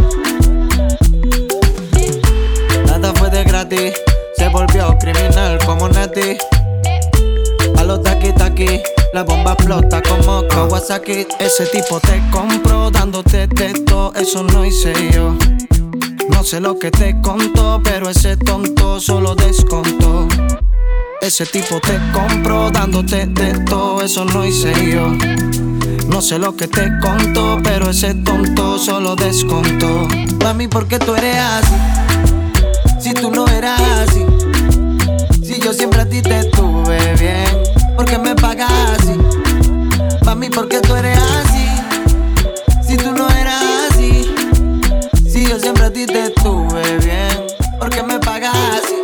Nada fue de gratis, se volvió criminal como Nati. A los taqui-taqui, la bomba explota como Kawasaki. Ese tipo te compró dándote texto, eso no hice yo. No sé lo que te contó, pero ese tonto solo descontó. Ese tipo te compró dándote texto, eso no hice yo. No sé lo que te contó, pero ese tonto solo descontó. Mami, ¿por qué tú eres así? Si tú no eras así, si yo siempre a ti te tuve bien, ¿por qué me pagas así? Mami, ¿por qué tú eres así? Si tú no eras así, si yo siempre a ti te tuve bien, ¿por qué me pagas así?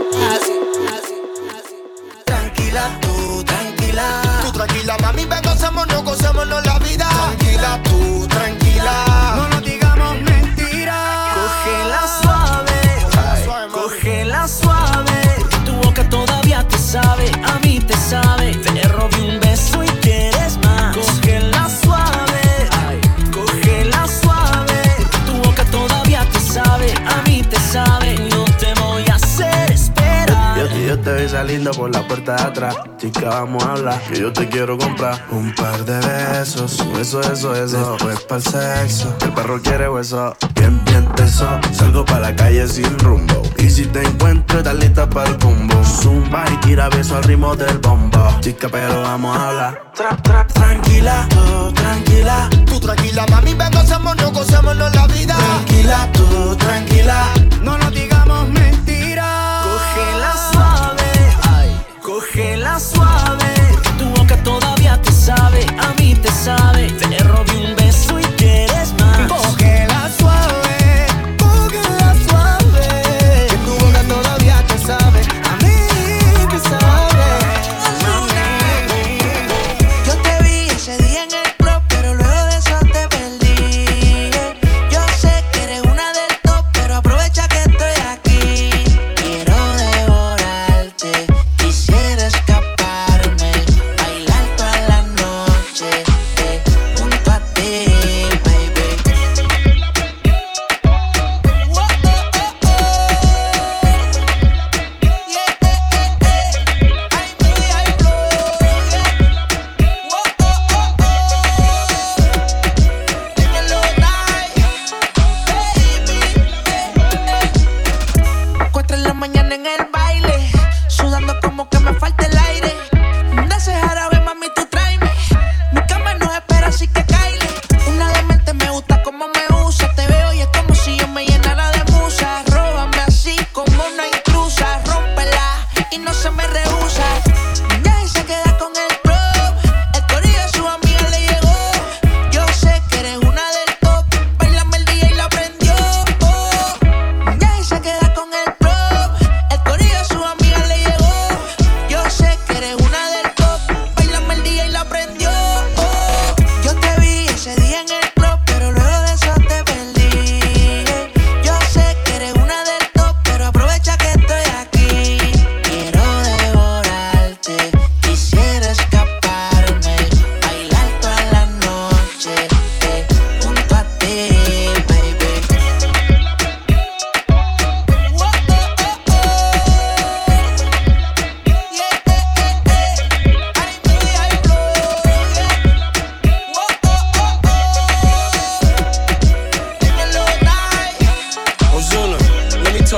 Tranquila, tú tranquila, mami, ven, gocémonos la vida. Tranquila, tú tranquila, No nos digamos mentiras. Cógela suave, cógela suave. Tu boca todavía te sabe, a mí te sabe. Te robé un beso y quieres más. Cógela suave, cógela suave. Tu boca todavía te sabe, a mí te sabe. No te voy a hacer esperar. Yo te vi saliendo por la puerta de atrás. Chica, vamos a hablar, que yo te quiero comprar un par de besos. Eso. Después pa'l sexo. El perro quiere hueso, bien teso. Salgo pa' la calle sin rumbo. Y si te encuentro, estás lista pa'l combo. Zumba y tira beso al ritmo del bombo. Chica, pero vamos a hablar. tranquila, tranquila. Tú tranquila, mami, ven, gocémonos la vida. Tranquila, tú tranquila. No nos digamos mentiras. Cógela suave, cógela suave. Tu boca todavía te sabe, a mí te sabe. Te robé un beso y quieres más. Cógela suave, cógela suave. Que tu boca todavía te sabe, a mí te sabe. Yo te vi ese día en el club, pero luego de eso te perdí. Yo sé que eres una del top, pero aprovecha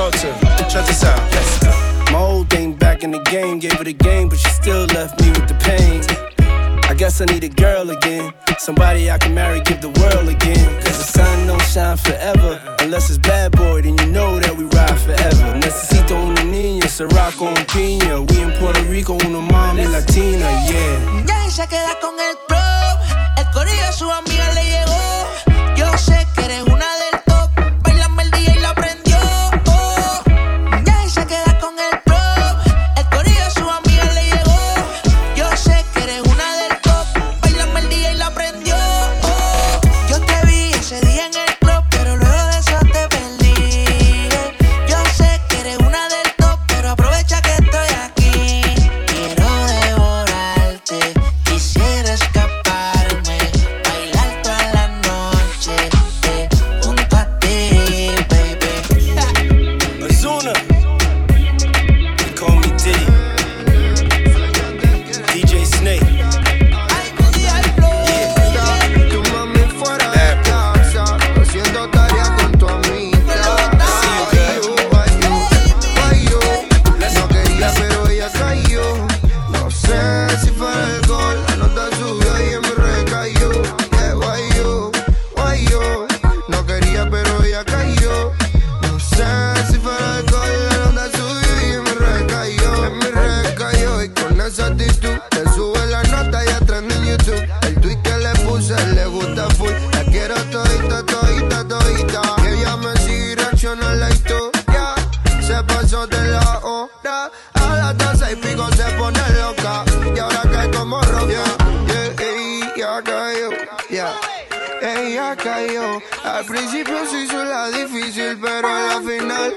talk to her. Check this out. My old thing back in the game, gave her the game, but she still left me with the pain. I guess I need a girl again, somebody I can marry, give the world again. Cause the sun don't shine forever, unless it's bad boy, then you know that we ride forever. Necesito una niña, Ciroc con piña. We in Puerto Rico, una mami latina, yeah. Ya se queda con el pro, el corillo a su amiga le llegó. Yo sé que eres una del top, bailame el día y la prendió. Oh. Ya se queda con el pro, el corillo a su amiga le llegó. Yo sé que eres una del top, bailame el día y la prendió. Oh. Yo te vi ese día en el club, pero luego de eso te perdí. Yo sé que eres una del top, pero aprovecha que estoy aquí. Quiero devorarte, quisiera escaparme, bailar toda la noche junto a ti, baby. Ozuna, they call me Diddy. DJ Snake. Tu mami fuera de casa, haciendo tarea con tu amiga. Guayo, no quería pero ella cayó. No sé si fue el gol, la nota subió y en mi recayó. Guayo, no quería pero ella cayó. No sé si fue el gol, la nota subió y en mi recayó. Y con esa actitud te sube la nota y atrás en YouTube. El tweet que le puse le gusta full. La quiero todita. Que ella me sigue reacciona a la historia. Se pasó de la hora. A las 12 y pico se pone loca. Y ahora cae como roca. Ella cayó. Ella cayó. Al principio se hizo la difícil, pero a la final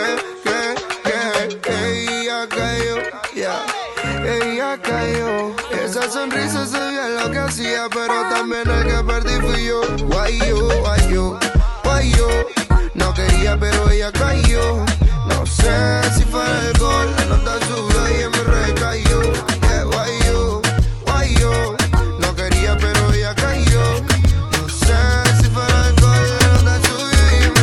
ella cayó. Ella cayó. Esa sonrisa se veía lo que hacía, pero también el que perdí fui yo. Guayo. No quería, pero ella cayó. No sé si fue el gol, la nota subió y en mi recayó. Guayo. No quería, pero ella cayó. No sé si fue el gol, la nota subió y en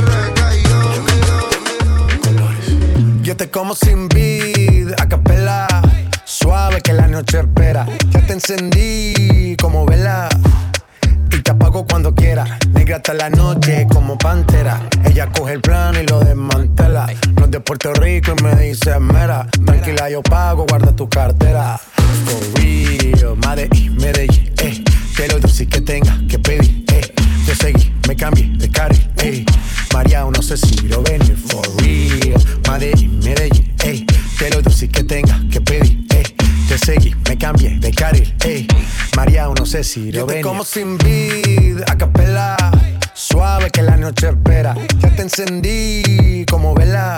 mi recayó. Yo te como sin vid, a capela. Suave que la noche espera. Ya te encendí como vela y te apago cuando quiera. Negra hasta la noche como pantera. Ella coge el plano y lo desmantela. No es de Puerto Rico y me dice mera. Tranquila, yo pago, guarda tu cartera. For real, Medellín, que lo dulce que tenga que pedir, Te seguí, me cambié de carril, María, no sé si lo venir. For real, Medellín, que lo dulce que tenga que pedir, Te seguí, me cambié de carril, María, no sé si lo venir. Yo te como sin vid, a capela. Suave que la noche espera. Ya te encendí como vela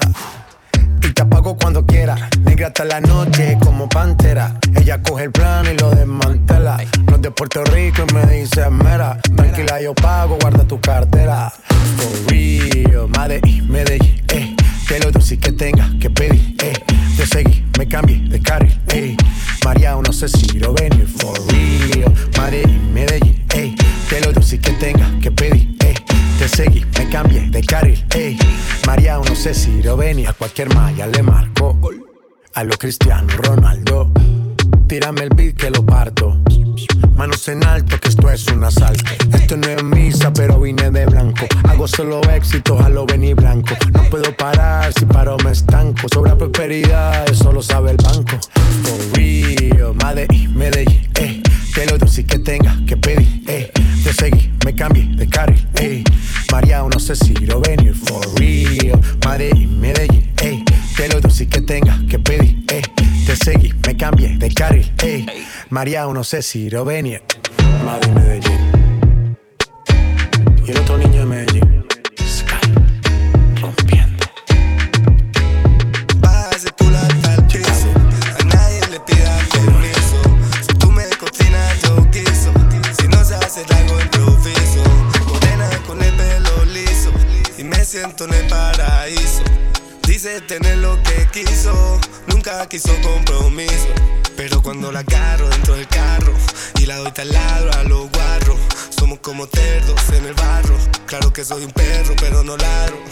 y te apago cuando quiera. Negra hasta la noche como pantera. Ella coge el plano y lo desmantela. No es de Puerto Rico y me dice mera. Tranquila, yo pago, guarda tu cartera. For real, Medellín, que lo dulce que tenga que pedir, Te seguí, me cambié de carril, María, no sé si lo venir. For real, Medellín, que lo dulce que tenga que pedir, Te seguí, me cambié de carril, María, no sé si lo venir. A cualquier malla le marco, a lo Cristiano Ronaldo. Tírame el beat que lo parto. Manos en alto, que esto es un asalto. Esto no es misa, pero vine de blanco. Hago solo éxitos a lo venir blanco. No puedo parar, si paro me estanco. Sobra prosperidad, eso lo sabe el banco. For real, Medellín, que lo dulce que tenga que pedir, Te seguí, me cambié de carril, María, no sé si lo venir. For real, Medellín, que lo dulce que tenga que pedir, Te seguí, me cambié de carril, María, no sé si lo venir. Madre Medellín. Y el otro niño de Medellín. Sky, rompiendo. Bájase tú la tal piso. A nadie le pidas permiso. Si tú me cocinas yo quiso. Si no se hace algo improviso. Morena con el pelo liso. Y me siento en el paraíso. Dice tener lo que quiso. Nunca quiso compromiso. Pero cuando la agarro dentro del carro y la doy taladro a los guarros, somos como cerdos en el barro. Claro que soy un perro, pero no ladro.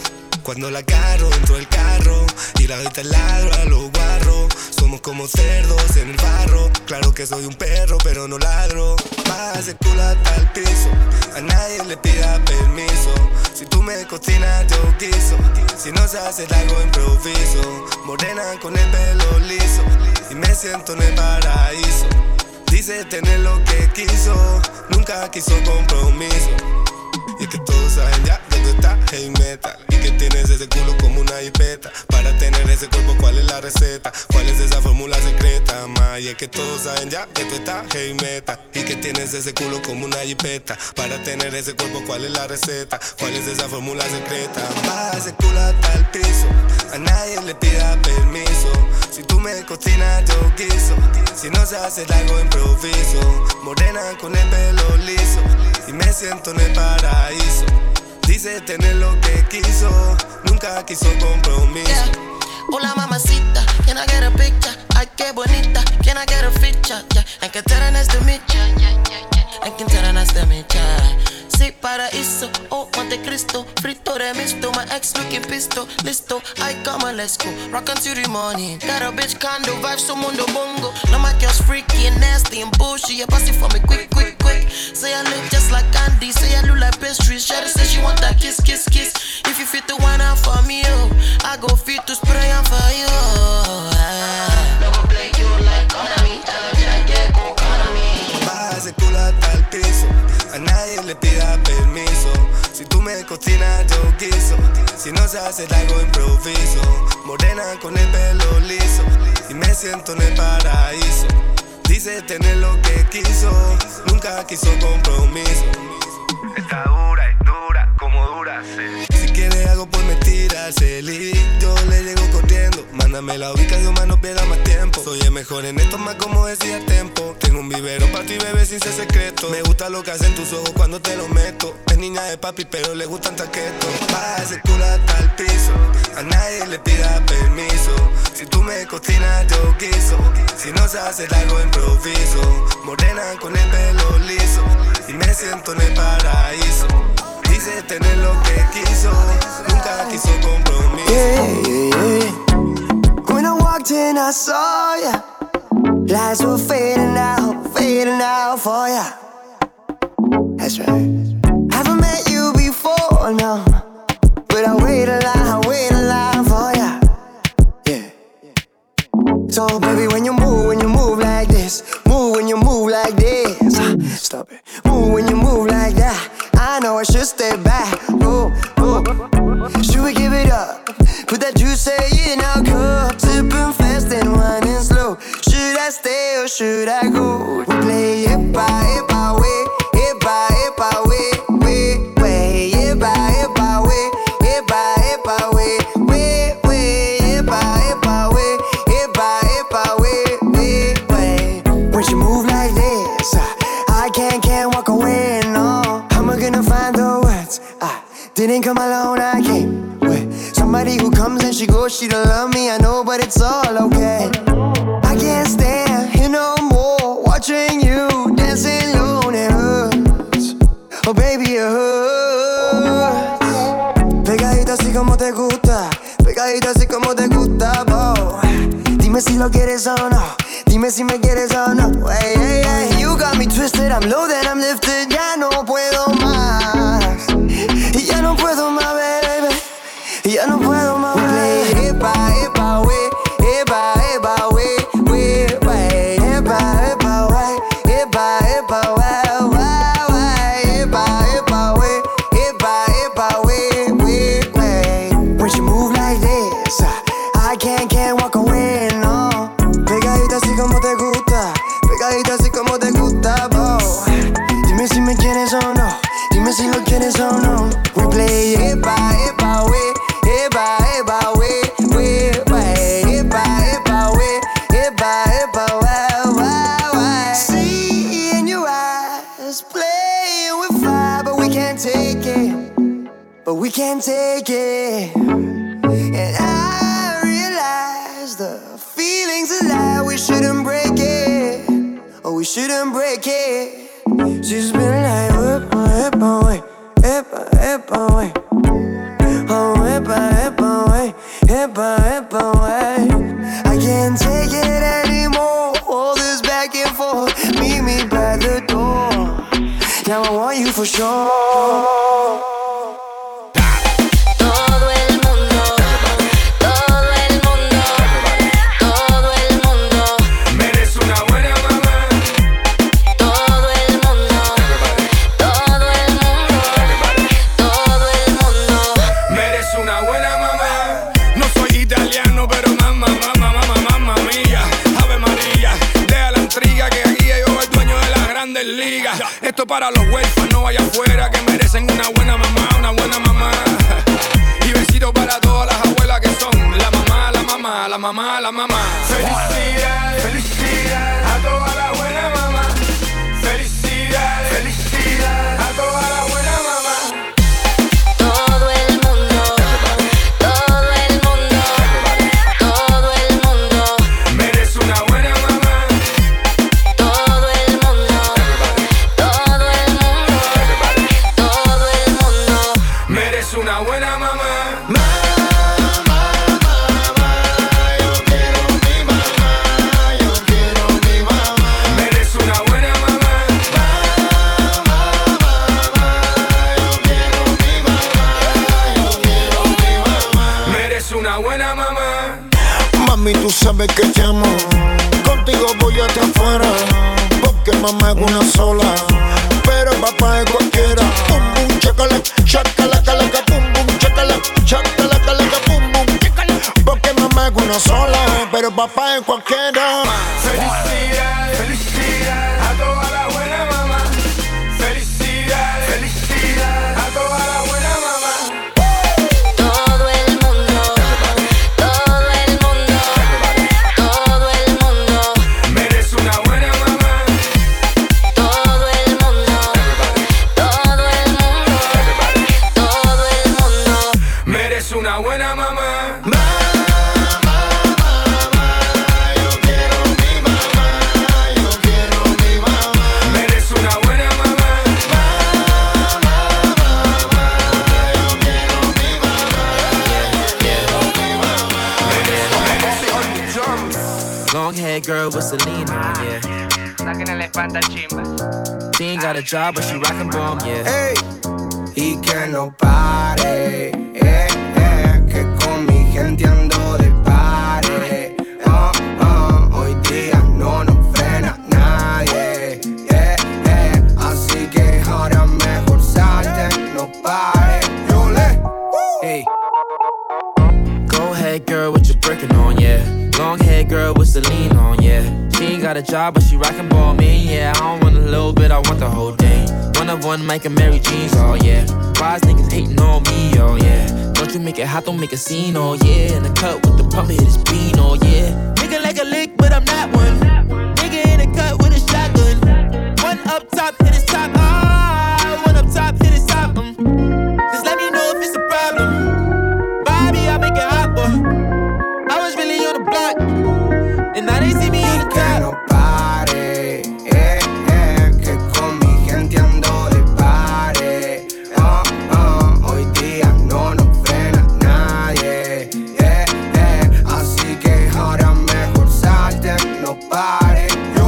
Cuando la agarro dentro del carro y la doy te ladro a los guarros. Somos como cerdos en el barro. Claro que soy un perro pero no ladro. Baja ese culo hasta el piso, a nadie le pida permiso. Si tú me cocinas yo guiso, si no se hace algo improviso. Morena con el pelo liso y me siento en el paraíso. Dice tener lo que quiso, nunca quiso compromiso. Y es que todos saben ya que tú estás heavy metal y que tienes ese culo como una jipeta. Para tener ese cuerpo, ¿cuál es la receta? ¿Cuál es esa fórmula secreta, ma? Y es que todos saben ya que tú estás heavy metal y que tienes ese culo como una jipeta. Para tener ese cuerpo, ¿cuál es la receta? ¿Cuál es esa fórmula secreta? Baja ese culo hasta el piso, a nadie le pida permiso. Si tú me cocinas yo guiso, si no se hace algo improviso. Morena con el pelo liso y me siento en el paraíso. Dice tener lo que quiso, nunca quiso compromiso. Yeah. Hola mamacita, can I get a picture? Ay, qué bonita, can I get a feature? Yeah. En que te nice to meet ya, en que te nice to meet ya. Sí, paraíso, oh Montecristo, frito de misto, my ex looking pisto, listo, I come and let's go, rock until the morning. Got a bitch condo vibe, so mundo bongo. No my girl's freaky and nasty and bullshit, yeah, pass it for me quick, quick, quick. Say I look just like candy, say I look like pastries. Shawty say she want that kiss, kiss, kiss. If you fit the one out for me, oh, I go fit to spray on for you. Luego play you like Konami, tell her ya que con Konami. Baja ese culo hasta el piso, a nadie le pida permiso. Si tú me cocinas yo guiso, si no se hace algo improviso. Morena con el pelo liso y me siento en el paraíso. Dice tener lo que quiso, nunca quiso compromiso. Está dura y dura como dura, sí. Si quiere algo pues me tira el celi, yo le llego corriendo. Mándame la ubicación, más no pierda más tiempo. Soy el mejor en esto, más como decía el tempo. Tengo un vivero para ti, bebé, sin ser secreto. Me gusta lo que hacen tus ojos cuando te lo meto. Es niña de papi, pero le gustan taquetos. Baja ese culo hasta el piso, a nadie le pida permiso. Si tú me cocinas yo guiso, si no se hace algo improviso. Morena con el pelo liso y me siento en el paraíso. Dice tener lo que quiso, nunca quiso compromiso. When I walked in I saw ya, lights were fading out for ya. That's right. Haven't met you before, no, but I wait a line for ya. Yeah. So baby, when you move like this, move when you move like this. Stop it. Move when you move like that. I know I should stay back. Oh, oh. Should we give it up? Put that juice in our cup. Sipping fast and winding slow. Should I stay or should I go? We play it by way, it by way, way, it by way, it by way, way, it by way, it by way, way. When you move like this, I can't walk away, no. How am I gonna find the words? I didn't come alone, I came with somebody who comes and she goes, she don't love me, I know, but it's all okay. I can't stand here no more, watching you dancing alone, it hurts. Oh baby, it hurts. Pegadita así como te gusta, pegadita así como te gusta, boy. Dime si lo quieres o no, dime si me quieres o no. Hey, hey, hey. You got me twisted, I'm loaded, I'm lifted, ya no puedo más. Y ya no puedo más, baby, y ya no puedo más. We play it by way, it by way, way, way, it by way, it by way, way, it by way, it by way, way, way. When you move like this, I can't walk away, no. Pegadita así como te gusta, pegadita así como te gusta, boy. Dime si me quieres o no, dime si lo quieres o no. We play it by way, it by way, way, way, it by way, it by way, way. See in your eyes, playing with fire, but we can't take it, but we can't take it. And I realize the feeling's a lie, we shouldn't break it, oh we shouldn't break it. She's been like, whip my way, whip my way, oh whip my epa, epa, wey. I can't take it anymore. All this back and forth. Meet me by the door. Now I want you for sure. Esto para los huérfanos allá afuera que merecen una buena mamá, una buena mamá. Y besitos para todas las abuelas que son la mamá, la mamá, la mamá, la mamá. Felicidades, felicidades a toda la buena mamá. Felicidades, felicidades a toda la buena mamá. Todo el mundo, todo el mundo, todo el mundo merece una buena mamá. Todo el mundo, todo el mundo, todo el mundo merece una buena mamá. Mami, tú sabes que te amo. Contigo voy hasta afuera. Porque mamá es una sola. Pero papá es cualquiera. Pum, pum, chacala, chacala, calaca, pum, pum, chacala, chacala, calaca, pum, pum. Porque mamá es una sola. Pero papá es cualquiera. Felicidades, felicidades a toda la buena mamá. Felicidades, felicidades a toda la buena mamá. Todo el mundo, todo el mundo, todo el mundo merece una buena mamá. Todo el mundo, todo el mundo, todo el mundo merece una buena mamá. Long hair girl with Celine on, yeah. She ain't got a job, but she rockin' bomb, yeah. Hey. Y que no pare, que con mi gente ando de pare. Hoy día no nos frena nadie, así que ahora mejor salte, no pare. Hey. Go ahead, girl, with your Birkin on, yeah. Long hair girl with Celine on, yeah. She ain't got a job, but she rockin' ball, man, yeah. I don't want a little bit, I want the whole thing. One of one, Mike and Mary Jeans, oh yeah. Wise niggas hating on me, oh yeah. Don't you make it hot, don't make a scene, oh yeah. In the cut with the pump, hit his bean, oh yeah. Nigga like a lick, but I'm not one. Nigga in the cut with a shotgun. One up top, hit his top, one up top, hit his top, Just let me know if it's a problem. Bobby, I make it hot, boy. I was really on the block, and now they see me on the top. Que no pare, que con mi gente ando de pare. Hoy día no nos frena nadie, así que ahora mejor salte, no pare.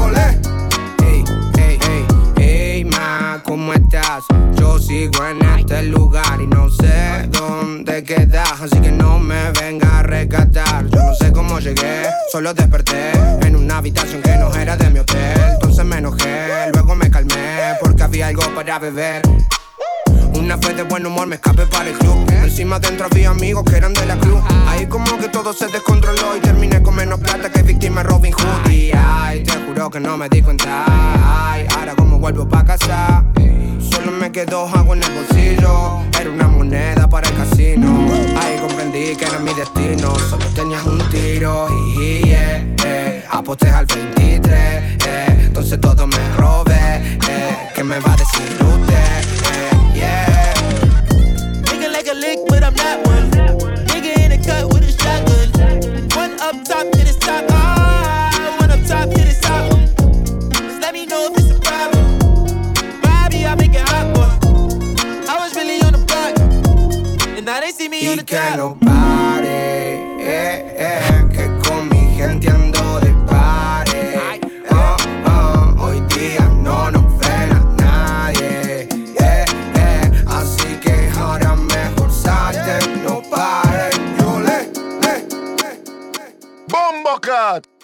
Hey, ma, ¿cómo estás? Yo sigo en este lugar y no sé dónde quedas, así que no me venga a rescatar. Yo no sé cómo llegué, solo desperté en una habitación que no era de mi hotel. Entonces me enojé, luego me calmé porque había algo para beber. Una fe de buen humor, me escapé para el club. Encima dentro había amigos que eran de la cruz. Ahí como que todo se descontroló y terminé con menos plata que víctima Robin Hood. Y ay, te juro que no me di cuenta. Ay, ahora como vuelvo pa' casa, solo me quedó agua en el bolsillo. Era una moneda para el casino. Ahí comprendí que era mi destino. Solo tenías un tiro y aposté al 23. Entonces todo me robé. ¿Qué me va a decir usted? Nigga like a lick, but I'm not one. Nigga in the cut with a shotgun. One up top, hit his top. One up top, hit his top. Just let me know if it's a problem. Bobby, I make it hot, boy. I was really on the block, and now they see me on the top. Que no pare, Que con mi gente ando de party. Hoy día no nos frena nadie. Así que ahora mejor salte, no pares. Bombo Cat.